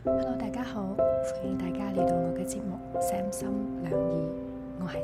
Hello， 大家好，歡迎大家嚟到我嘅節目Sam 心兩意，我係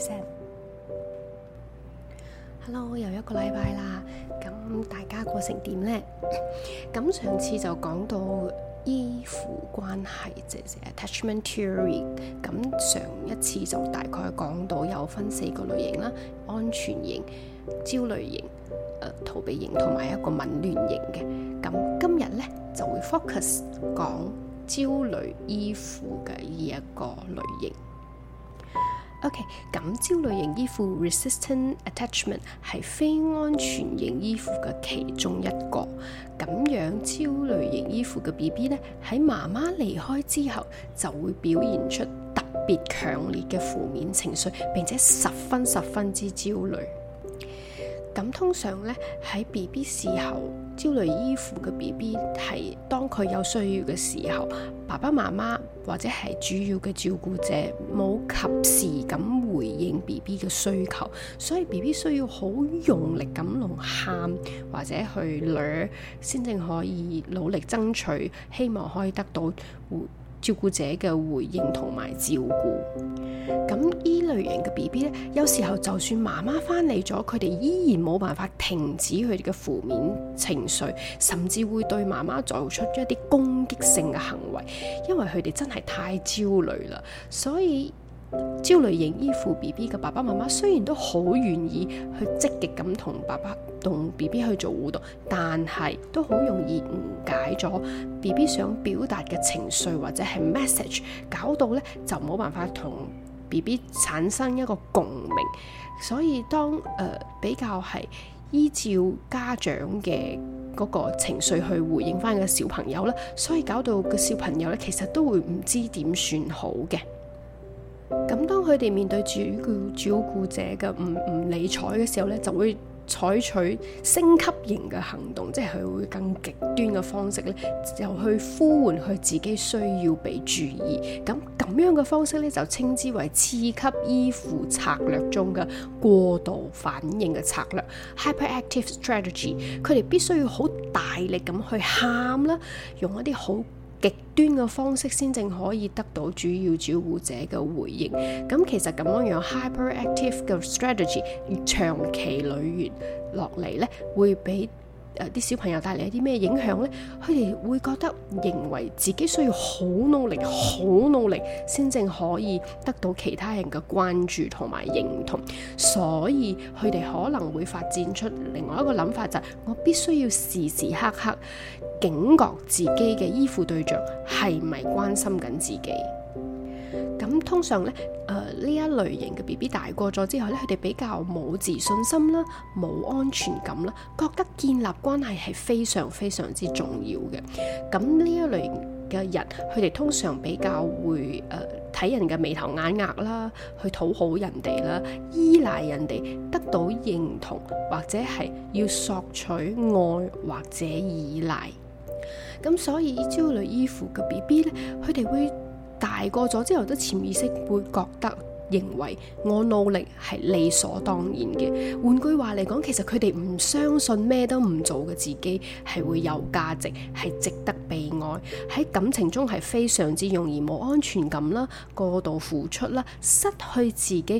Sam。Hello， 又一個禮拜啦，咁大家過成點呢？咁上次就講到依附關係，即係 attachment theory。咁上一次就大概講到有分4個類型啦：安全型、焦慮型、逃避型同埋一個紊亂型嘅。咁今日呢就會 focus 講焦慮依附嘅呢一個類型。OK， 咁焦慮型依附 resistant attachment 係非安全型依附嘅其中一個。咁樣焦慮型依附嘅 BB 咧，喺媽媽離開之後就會表現出特別強烈嘅負面情緒，並且十分之焦慮。咁通常咧喺 BB 時候，焦慮依附嘅 BB 係當佢有需要嘅時候，爸爸媽媽或者係主要嘅照顧者冇及時咁回應 BB 嘅需求，所以 BB 需要好用力咁喊或者去掠，先至可以努力爭取，希望可以得到照顧者嘅回應同埋照顧。咁依類型嘅 BB 咧，有時候就算媽媽翻嚟咗，佢哋依然冇辦法停止佢哋嘅負面情緒，甚至會對媽媽做出一啲攻擊性嘅行為，因為佢哋真係太焦慮啦。所以焦慮型依附 BB 嘅爸爸媽媽雖然都好願意去積極咁同 BB 去做互動，但係都好容易誤解咗 BB 想表達嘅情緒或者係 message， 搞到咧就冇辦法同 BB 產生一個共鳴。所以當比較係依照家長嘅嗰個情緒去回應翻個小朋友啦，所以搞到個小朋友咧其實都會唔知點算好嘅。咁當佢哋面對照顧者嘅唔理睬嘅時候咧，就會採取升級型嘅行動，即係佢會更極端嘅方式咧，就去呼喚佢自己需要被注意。咁樣嘅方式咧，就稱之為次級依附策略中嘅過度反應嘅策略 （hyperactive strategy）。佢哋必須要好大力咁去喊啦，用一啲好極端嘅方式先正可以得到主要照顧者嘅回應。咁其實咁樣 hyperactive 嘅 strategy 長期累月落嚟咧，會俾啲小朋友帶嚟一啲咩影響呢？佢哋會覺得認為自己需要好努力先正可以得到其他人嘅關注同埋認同，所以佢哋可能會發展出另外一個諗法，就係我必須要時時刻刻警覺自己嘅依附對象係咪關心緊自己。咁通常咧，呢一類型嘅 BB 大個咗之後咧，佢哋比較冇自信心啦，冇安全感啦，覺得建立關係係非常之重要嘅。咁呢一類型嘅人，佢哋通常比較會睇人嘅眉頭眼額啦，去討好人哋啦，依賴人哋得到認同，或者係要索取愛或者依賴。咁所以焦慮依附嘅 BB 咧，佢哋會大個咗之後，都潛意識會覺得認為我努力係理所當然嘅。換句話嚟講，其實佢哋唔相信咩都唔做嘅自己係會有價值，係值得被愛。喺感情中係非常之容易冇安全感啦，過度付出啦，失去自己，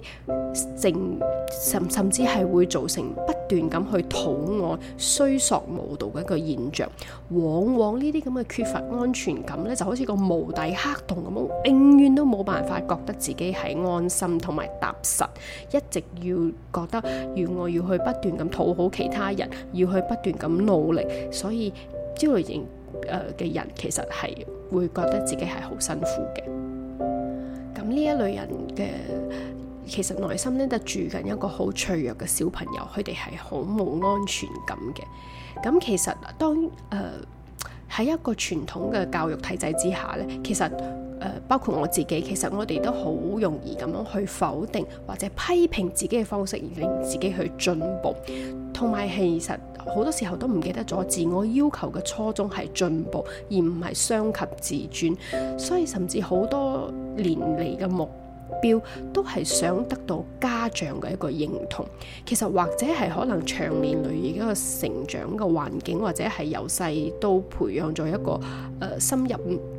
甚至係會造成不斷咁去討愛、需索無度嘅一個現象。往往呢啲咁嘅缺乏安全感咧，就好似個無底黑洞咁，永遠都冇辦法覺得自己係安心同埋踏實，一直要覺得我要去不斷咁討好其他人，要去不斷咁努力，所以焦慮型嘅人其實係會覺得自己係好辛苦嘅。咁呢一類人嘅其實內心咧就住緊一個好脆弱嘅小朋友，佢哋係好冇安全感嘅。咁其實當喺一個傳統嘅教育體制之下咧，其實包括我自己，其實我哋都好容易咁樣去否定或者批評自己嘅方式，而令自己去進步。同埋其實好多時候都唔記得咗自我要求嘅初衷係進步，而唔係傷及自尊。所以甚至好多年嚟嘅目標都係想得到家長嘅一個認同。其實或者係可能長年累月一個成長嘅環境，或者係由細都培養咗一個深入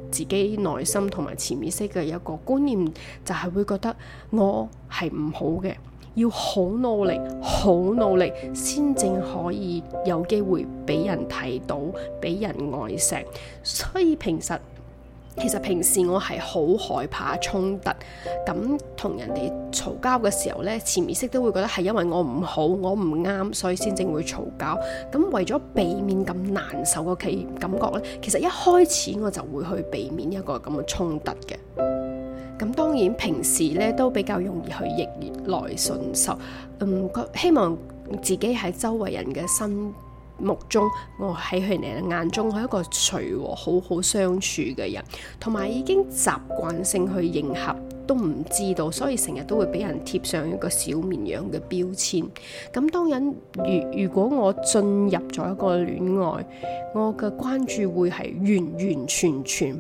自己內心同埋潛意識嘅一個觀念，就係會覺得我係唔好嘅，要好努力好努力先正可以有機會俾人睇到，俾人愛錫。所以其實平時我係好害怕衝突，咁同人哋嘈交嘅時候呢，潛意識都會覺得係因為我唔好，我唔啱，所以先正會嘈交。咁為咗避免咁難受嘅感覺呢，其實一開始我就會去避免一個咁嘅衝突嘅。咁當然平時呢都比較容易去逆來順受，希望自己喺周圍人嘅心目中，我喺佢哋嘅眼中係一個隨和好好相處嘅人，同埋已經習慣性去迎合，都唔知道，所以成日都會俾人貼上一個小綿羊嘅標籤。咁當然如果我進入咗一個戀愛，我嘅關注會係完完全全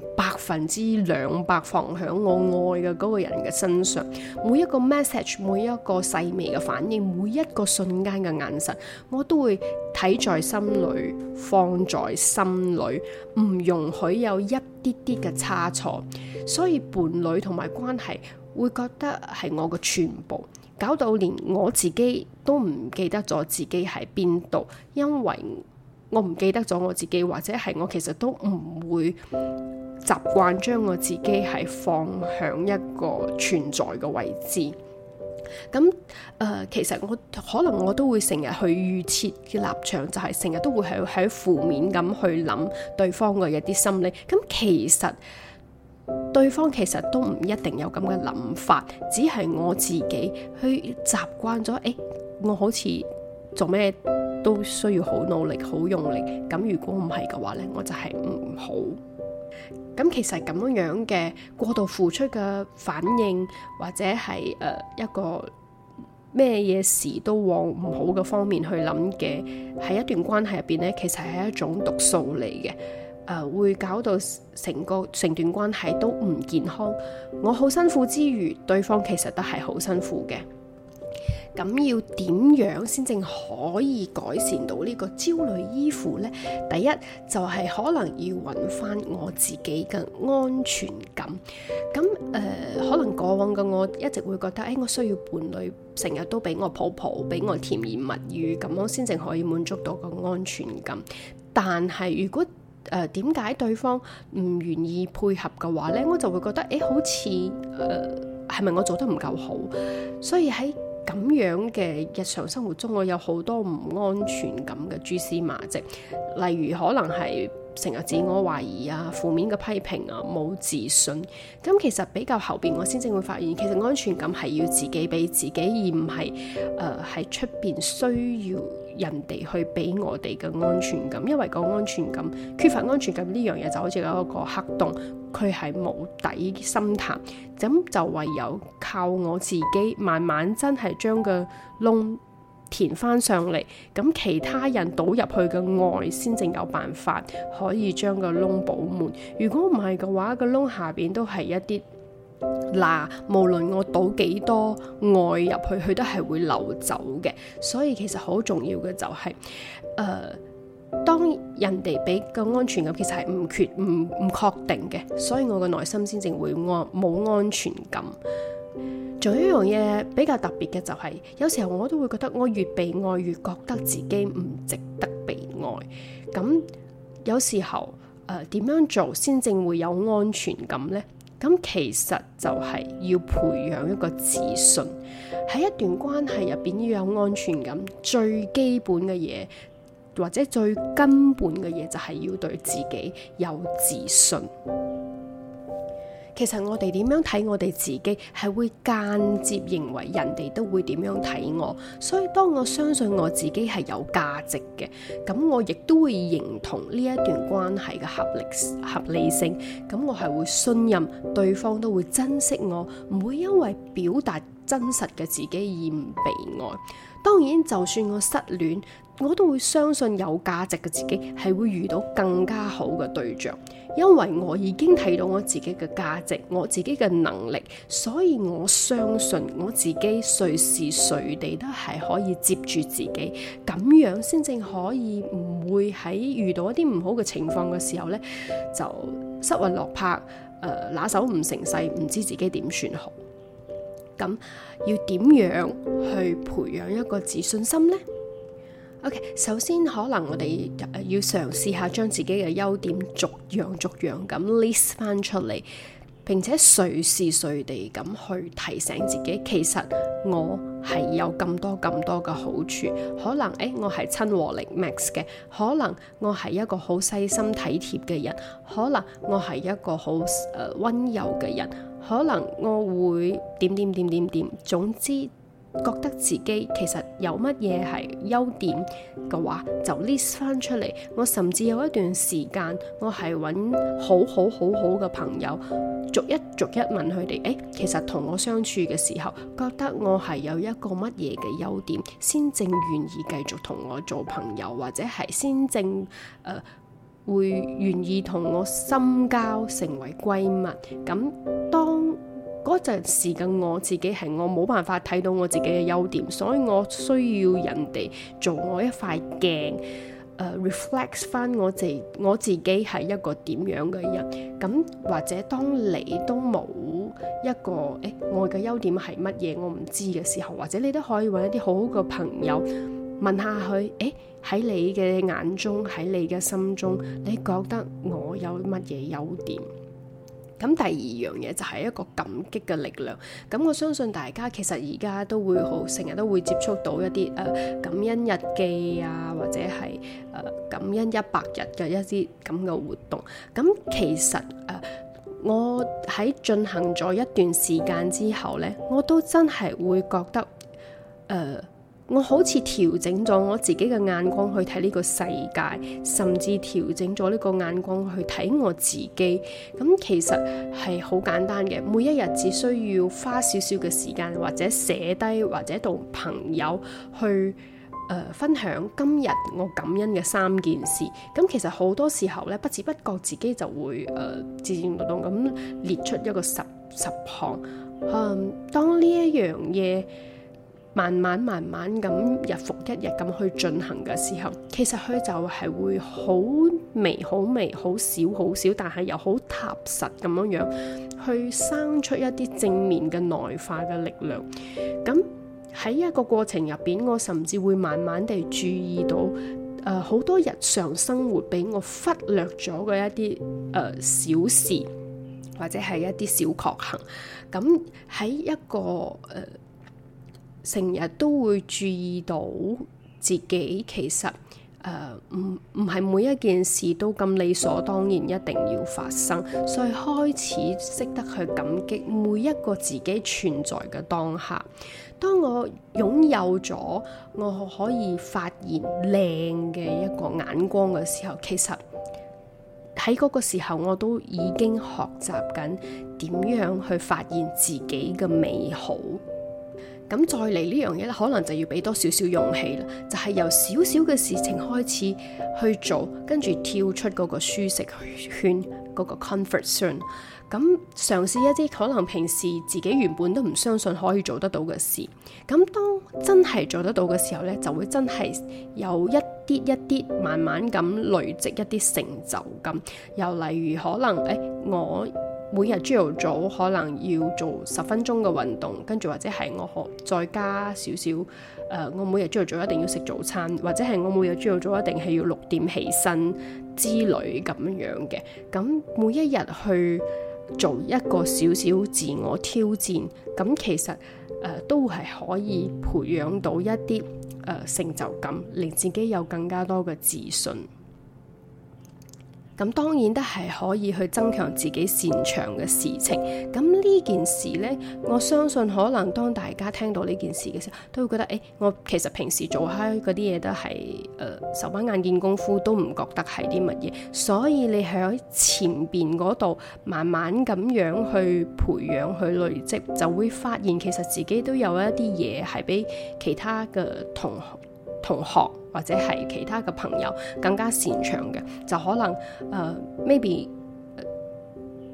200%放響我愛嘅嗰個人嘅身上，每一個 message， 每一個細微嘅反應，每一個瞬間嘅眼神，我都會睇在心裏，放在心裏，唔容許有一啲啲嘅差錯。所以伴侶同埋關係會覺得係我嘅全部，搞到連我自己都唔記得咗自己喺邊度，因為我唔記得咗我自己，或者係我其實都唔會習慣將我自己係放響一個存在嘅位置。咁其實可能我都會成日去預設嘅立場，就係成日都會喺負面咁去諗對方嘅一啲心理。咁其實對方其實都唔一定有咁嘅諗法，只係我自己去習慣咗。我好似做咩都需要好努力好用力，咁如果唔係嘅話呢，我就係唔好。咁其實咁樣嘅過度付出嘅反應，或者係一個咩嘢事都往唔好嘅方面去諗嘅，喺一段關係入邊呢，其實係一種毒素嚟嘅。會搞到成段關係都唔健康。我好辛苦之餘，對方其實都係好辛苦嘅。咁要點樣先正可以改善到呢個焦慮依附呢？第一就係可能要揾翻我自己嘅安全感。咁可能過往嘅我一直會覺得，我需要伴侶成日都俾我抱抱，俾我甜言蜜語，咁樣先正可以滿足到個安全感。但係如果點解對方唔願意配合嘅話呢，我就會覺得好似係咪我做得唔夠好？所以喺咁樣嘅日常生活中，我有好多唔安全感嘅蛛絲馬跡，例如可能係成日自我懷疑啊、負面嘅批評啊、冇自信。咁其實比較後邊，我先正會發現，其實安全感係要自己俾自己，而唔係喺出邊需要人哋去俾我哋嘅安全感。因為個安全感缺乏安全感呢樣嘢，就好似有一個黑洞，佢係無底深潭。咁就唯有靠我自己慢慢真係將個窿填翻上嚟，咁其他人倒入去嘅愛先正有辦法可以將個窿補滿。如果唔係嘅話，個窿下邊都係一啲無論我倒幾多愛入去，佢都係會流走嘅。所以其實好重要嘅就係當人哋俾個安全感其實係唔確定嘅，所以我嘅內心先正會冇安全感。仲有一樣嘢比較特別嘅就係，有時候我都會覺得我越被愛越覺得自己唔值得被愛。咁有時候點樣做先正會有安全感呢？咁其實就係要培養一個自信。喺一段關係入邊要有安全感，最基本嘅嘢或者最根本嘅嘢就係要對自己有自信。其實我哋點樣睇我哋自己，係會間接認為人哋都會點樣睇我。所以當我相信我自己係有價值嘅，咁我亦都會認同呢一段關係嘅合理性。咁我係會信任對方都會珍惜我，唔會因為表達真實嘅自己而唔被愛。當然就算我失戀，我都會相信有價值嘅自己係會遇到更加好嘅對象，因為我已經睇到我自己嘅價值，我自己嘅能力，所以我相信我自己隨時隨地都係可以接住自己，咁樣先正可以唔會喺遇到一啲唔好嘅情況嘅時候呢，就失魂落魄，拿手唔成勢，唔知自己點算好。咁要點樣去培養一個自信心呢？ OK， 首先可能我哋要嘗試下將自己嘅優點逐樣咁 list 翻出嚟，並且隨時隨地咁去提醒自己，其實我係有咁多嘅好處。可能我係親和力 max 嘅，可能我係一個好細心體貼嘅人，可能我係一個好溫柔嘅人，可能我會點，總之覺得自己其實有乜嘢係優點嘅話，就 list 翻出嚟。我甚至有一段時間，我係揾好嘅朋友，逐一問佢哋，其實同我相處嘅時候，覺得我係有一個乜嘢嘅優點，先正願意繼續同我做朋友，或者係先正會願意同我深交，成為閨蜜。咁當嗰陣時嘅我自己係我冇辦法睇到我自己嘅優點，所以我需要人哋做我一塊鏡，reflect 翻我自己係一個點樣嘅人。咁或者當你都冇一個我嘅優點係乜嘢我唔知嘅時候，或者你都可以揾一啲好好嘅朋友問下佢，喺你嘅眼中，喺你嘅心中，你覺得我有乜嘢優點？咁第二樣嘢就係一個感激嘅力量。咁我相信大家其實而家都會成日都會接觸到一啲感恩日記啊，或者係感恩100日嘅一啲咁嘅活動。咁其實我喺進行咗一段時間之後呢，我都真係會覺得我好似調整咗我自己嘅眼光去睇呢個世界，甚至調整咗呢個眼光去睇我自己。咁其實係好簡單嘅，每一日只需要花少少嘅時間，或者寫低，或者同朋友去分享今日我感恩嘅3件事。咁其實好多時候咧，不知不覺自己就會自動咁列出一個十項。當呢一樣嘢慢慢咁日復一日咁去進行嘅時候，其實佢就係會好微、好少，但係又好踏實咁樣去生出一啲正面嘅內化嘅力量。咁喺一個過程入邊，我甚至會慢慢地注意到好多日常生活俾我忽略咗嘅一啲小事，或者係一啲小確幸。咁喺一個成日都會注意到自己其實唔係每一件事都咁理所當然一定要發生，所以開始識得去感激每一個自己存在嘅當下。當我擁有咗我可以發現靚嘅一個眼光嘅時候，其實喺嗰個時候我都已經學習緊點樣去發現自己嘅美好。咁再嚟呢樣嘢咧，可能就要俾多少少勇氣啦，就係由少少嘅事情開始去做，跟住跳出嗰個舒適圈，嗰個 comfort zone。咁嘗試一啲可能平時自己原本都唔相信可以做得到嘅事。咁當真係做得到嘅時候呢，就會真係有一啲慢慢咁累積一啲成就感。又例如可能我每日朝頭早可能要做10分鐘嘅運動，跟住或者係我再加少少我每日朝頭早一定要食早餐，或者係我每日朝頭早一定係要6點起身之類咁樣嘅。咁每一日去做一個少少自我挑戰，咁其實都係可以培養到一啲成就感，令自己有更加多嘅自信。咁當然都係可以去增強自己擅長嘅事情。咁呢件事呢，我相信可能當大家聽到呢件事嘅時候，都會覺得我其實平時做開嗰啲嘢都係手板眼見功夫，都唔覺得係啲乜嘢。所以你喺前邊嗰度慢慢咁樣去培養、去累積，就會發現其實自己都有一啲嘢係比其他嘅同學或者係其他嘅朋友更加擅長嘅。就可能maybe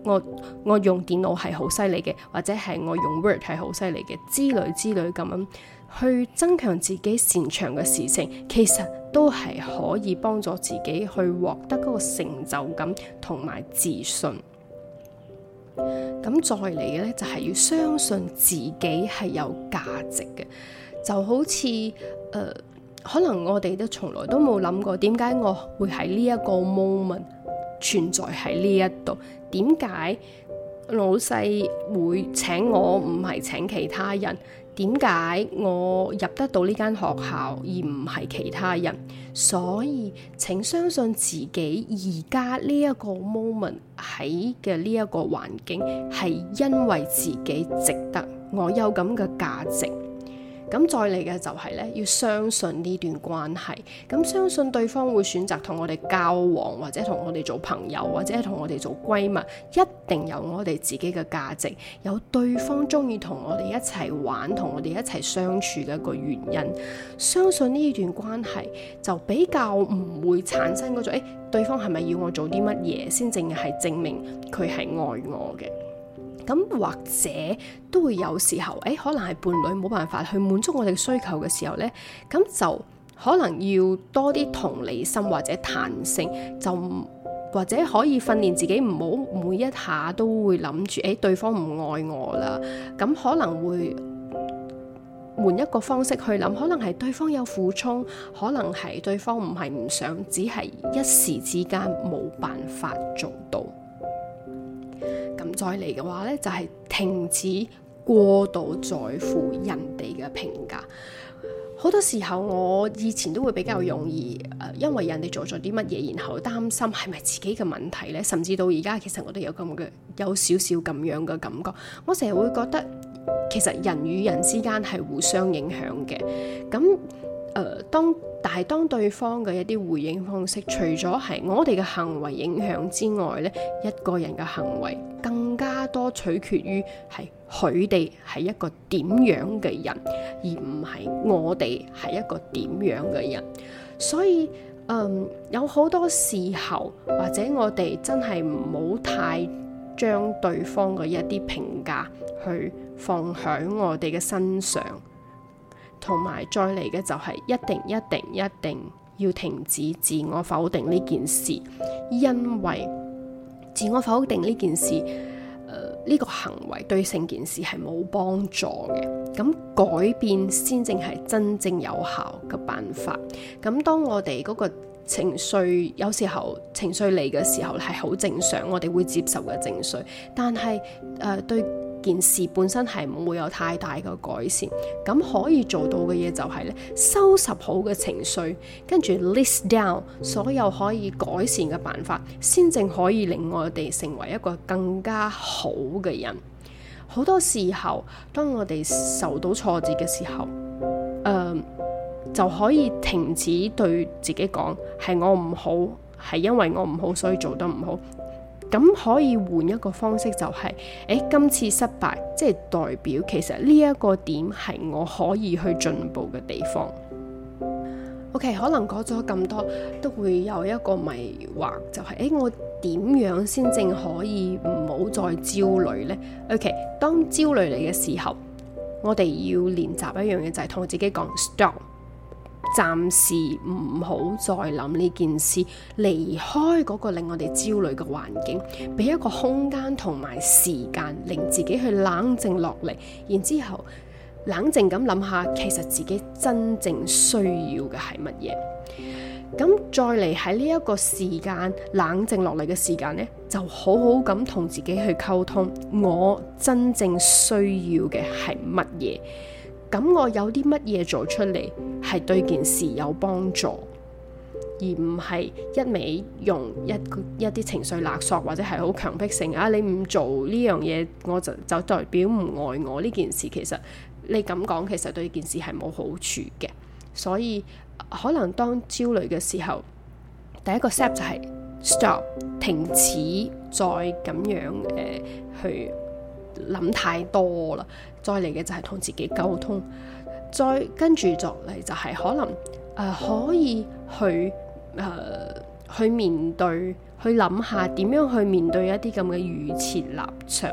我用電腦係好犀利嘅，或者係我用 Word 係好犀利嘅之類咁樣去增強自己擅長嘅事情，其實都係可以幫助自己去獲得嗰個成就感同埋自信。咁再嚟嘅呢，就係要相信自己係有價值嘅，就好似可能我哋都從來都冇諗過點解我會喺呢一個 moment 存在喺呢一度，點解老細會請我唔係請其他人，點解我入得到呢間學校而唔係其他人。所以請相信自己而家呢一個 moment 喺嘅呢一個環境係因為自己值得，我有咁嘅價值。咁再嚟嘅就係咧，要相信呢段關係，咁相信對方會選擇同我哋交往，或者同我哋做朋友，或者同我哋做閨蜜，一定有我哋自己嘅價值，有對方中意同我哋一齊玩，同我哋一齊相處嘅一個原因。相信呢段關係就比較唔會產生嗰種對方係咪要我做啲乜嘢先淨係證明佢係愛我嘅。咁或者都會有時候，可能係伴侶冇辦法去滿足我哋嘅需求嘅時候呢，咁就可能要多啲同理心或者彈性，就或者可以訓練自己唔好每一下都會諗住對方唔愛我啦，咁可能會換一個方式去諗，可能係對方有苦衷，可能係對方唔係唔想，只係一時之間冇辦法做到。咁再嚟嘅話呢，就係停止過度在乎人哋嘅評價。好多時候我以前都會比較容易因為人哋做咗啲乜嘢，然後擔心係咪自己嘅問題呢？甚至到而家其實我都有少少咁樣嘅感覺。我成日會覺得其實人與人之間係互相影響嘅。咁當對方嘅一啲回應方式，除咗係我哋嘅行為影響之外呢，一個人嘅行為更加多取決於係佢哋係一個點樣嘅人，而唔係我哋係一個點樣嘅人。所以有好多時候，或者我哋真係唔好太將對方嘅一啲評價去放喺我哋嘅身上。同埋再嚟嘅就係一定要停止自我否定呢件事，因為自我否定呢件事，呢個行為對成件事係冇幫助嘅。咁改變先正係真正有效嘅辦法。咁當我哋嗰個情緒有時候情緒嚟嘅時候係好正常，我哋會接受嘅情緒，但係對件事本身係唔會有太大嘅改善。咁可以做到嘅嘢就係咧，收拾好嘅情緒，跟住 list down 所有可以改善嘅辦法，先正可以令我哋成為一個更加好嘅人。好多時候當我哋受到挫折嘅時候，就可以停止對自己講係我唔好，係因為我唔好所以做得唔好。咁可以換一個方式，就係今次失敗即係代表其實呢一個點係我可以去進步嘅地方。OK， 可能講咗咁多都會有一個迷惑，就係我點樣先正可以唔好再焦慮呢？ OK， 當焦慮嚟嘅時候，我哋要練習一樣嘢，就係同自己講 stop，暫時唔好再諗呢件事，離開嗰個令我哋焦慮嘅環境，俾一個空間同埋時間，令自己去冷靜落嚟，然之後冷靜咁諗下，其實自己真正需要嘅係乜嘢。咁再嚟喺呢一個時間冷靜落嚟嘅時間呢，就好好咁同自己去溝通，我真正需要嘅係乜嘢。咁我有啲乜嘢做出嚟係對件事有幫助，而唔係一味用一啲情緒勒索，或者係好強迫性你唔做呢樣嘢我就代表唔愛我。呢件事其實你咁講，其實對件事係冇好處嘅。所以可能當焦慮嘅時候，第一個 step 就係 stop， 停止再咁樣去諗太多啦。再嚟嘅就係同自己溝通，再跟住落嚟就係可能可以去面對，去諗下點樣去面對一啲咁嘅預設立場。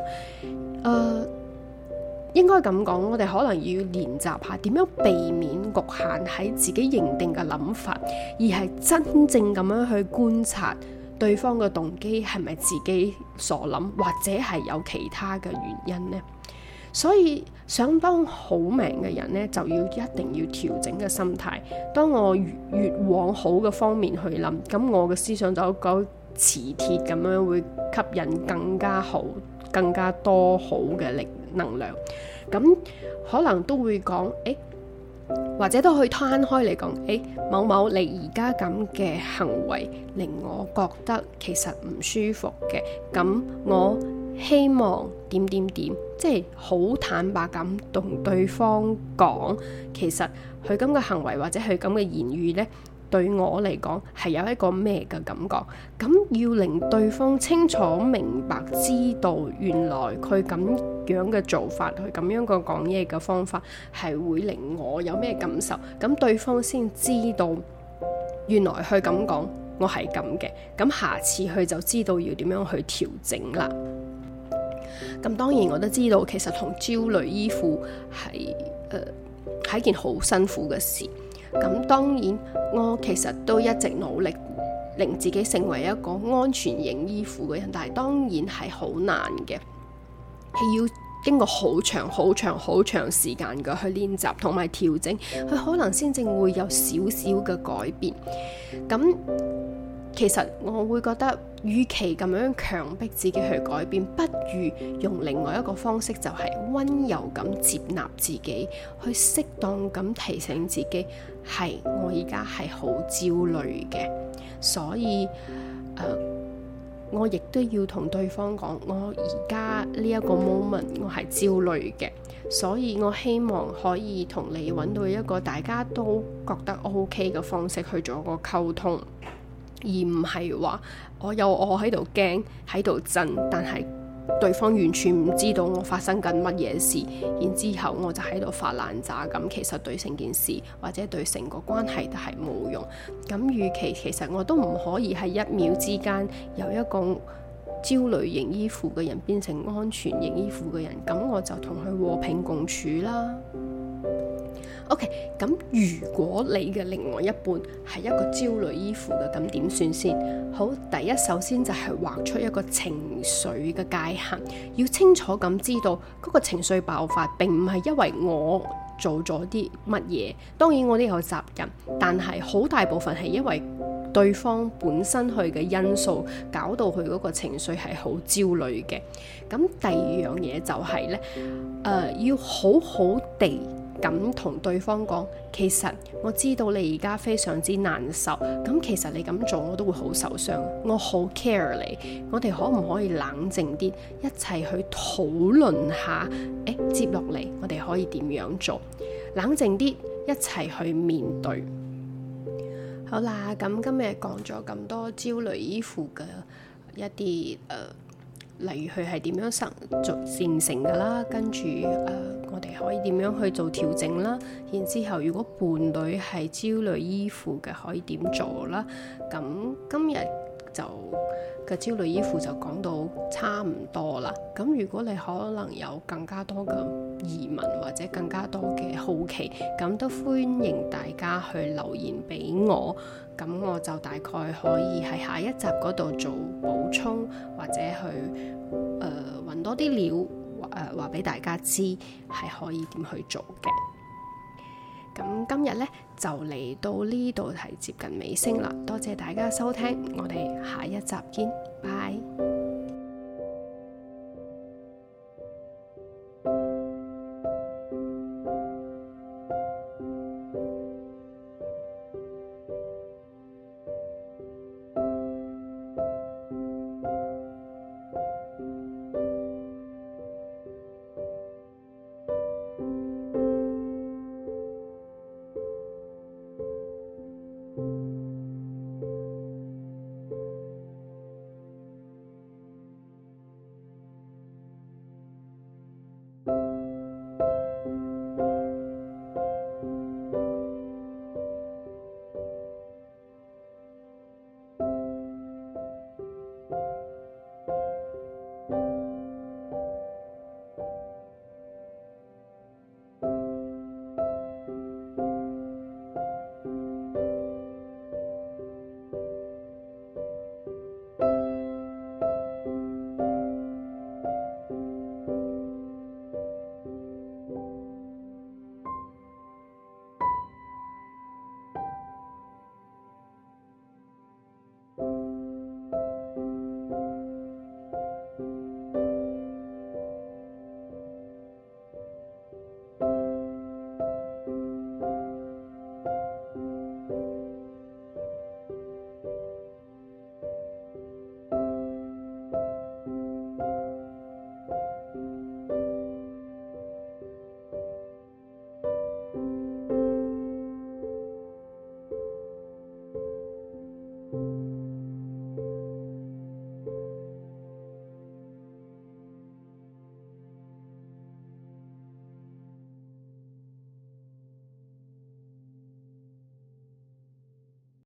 應該咁講，我哋可能要練習下點樣避免局限喺自己認定嘅諗法，而係真正咁樣去觀察對方嘅動機係咪自己所諗，或者係有其他嘅原因呢？所以想當好命嘅人呢，就一定要調整嘅心態。當我越往好嘅方面去諗，咁我嘅思想就好磁鐵咁樣會吸引更加好、更加多好嘅力能量。咁可能都會講，或者都可以攤開嚟講，某某你而家咁嘅行為令我覺得其實唔舒服嘅，咁我希望點點點，即係好坦白咁同對方講，其實佢咁嘅行為或者佢咁嘅言語呢，對我嚟講係有一個咩嘅感覺。咁要令對方清楚明白知道原來佢咁樣嘅做法，佢咁樣嘅講嘢嘅方法係會令我有咩感受，咁對方先知道原來佢咁講我係咁嘅，咁下次佢就知道要點樣去調整啦。咁當然我都知道，其實同焦慮依附係一件好辛苦嘅事。咁當然我其實都一直努力令自己成為一個安全型依附嘅人，但係當然係好難嘅，係要經過好長時間嘅去練習同埋調整，佢可能先正會有少少嘅改變。咁其實我會覺得，與其咁樣強迫自己去改變，不如用另外一個方式，就係溫柔咁接納自己，去適當咁提醒自己，係我而家係好焦慮嘅，所以我亦都要同對方講，我而家呢一個 moment 我係焦慮嘅，所以我希望可以同你揾到一個大家都覺得 OK 嘅方式去做一個溝通。而唔係話我喺度驚喺度震，但係對方完全唔知道我發生緊乜嘢事，然之後我就喺度發爛渣，咁其實對成件事或者對成個關係都係冇用。咁與其實我都唔可以喺一秒之間由一個焦慮型依附嘅人變成安全型依附嘅人，咁我就同佢和平共處啦。OK， 咁如果你嘅另外一半係一個焦慮依附嘅，咁點算先？好，第一首先就係畫出一個情緒嘅界限，要清楚咁知道嗰個情緒爆發並唔係因為我做咗啲乜嘢，當然我都有責任，但係好大部分係因為對方本身佢嘅因素搞到佢嗰個情緒係好焦慮嘅。咁第二樣嘢就係呢，要好好地咁同對方講，其實我知道你而家非常之難受，咁其實你咁做我都會好受傷，我好 care 你，我哋可唔可以冷靜啲，一齊去討論下，接落嚟我哋可以點樣做，冷靜啲，一齊去面對。好啦，咁今日講咗咁多焦慮依附嘅一啲例如佢係點樣形成㗎啦，跟住我哋可以點樣去做調整啦，然之後如果伴侶係焦慮依附嘅可以點做啦。咁今日就嘅焦慮依附就講到差唔多啦。咁如果你可能有更加多嘅疑問或者更加多嘅好奇，咁都歡迎大家去留言俾我，咁我就大概可以喺下一集嗰度做補充，或者去揾多啲料話俾大家知係可以點去做嘅。咁今日呢，就嚟到呢度係接近尾聲啦，多謝大家收聽，我哋下一集見，拜。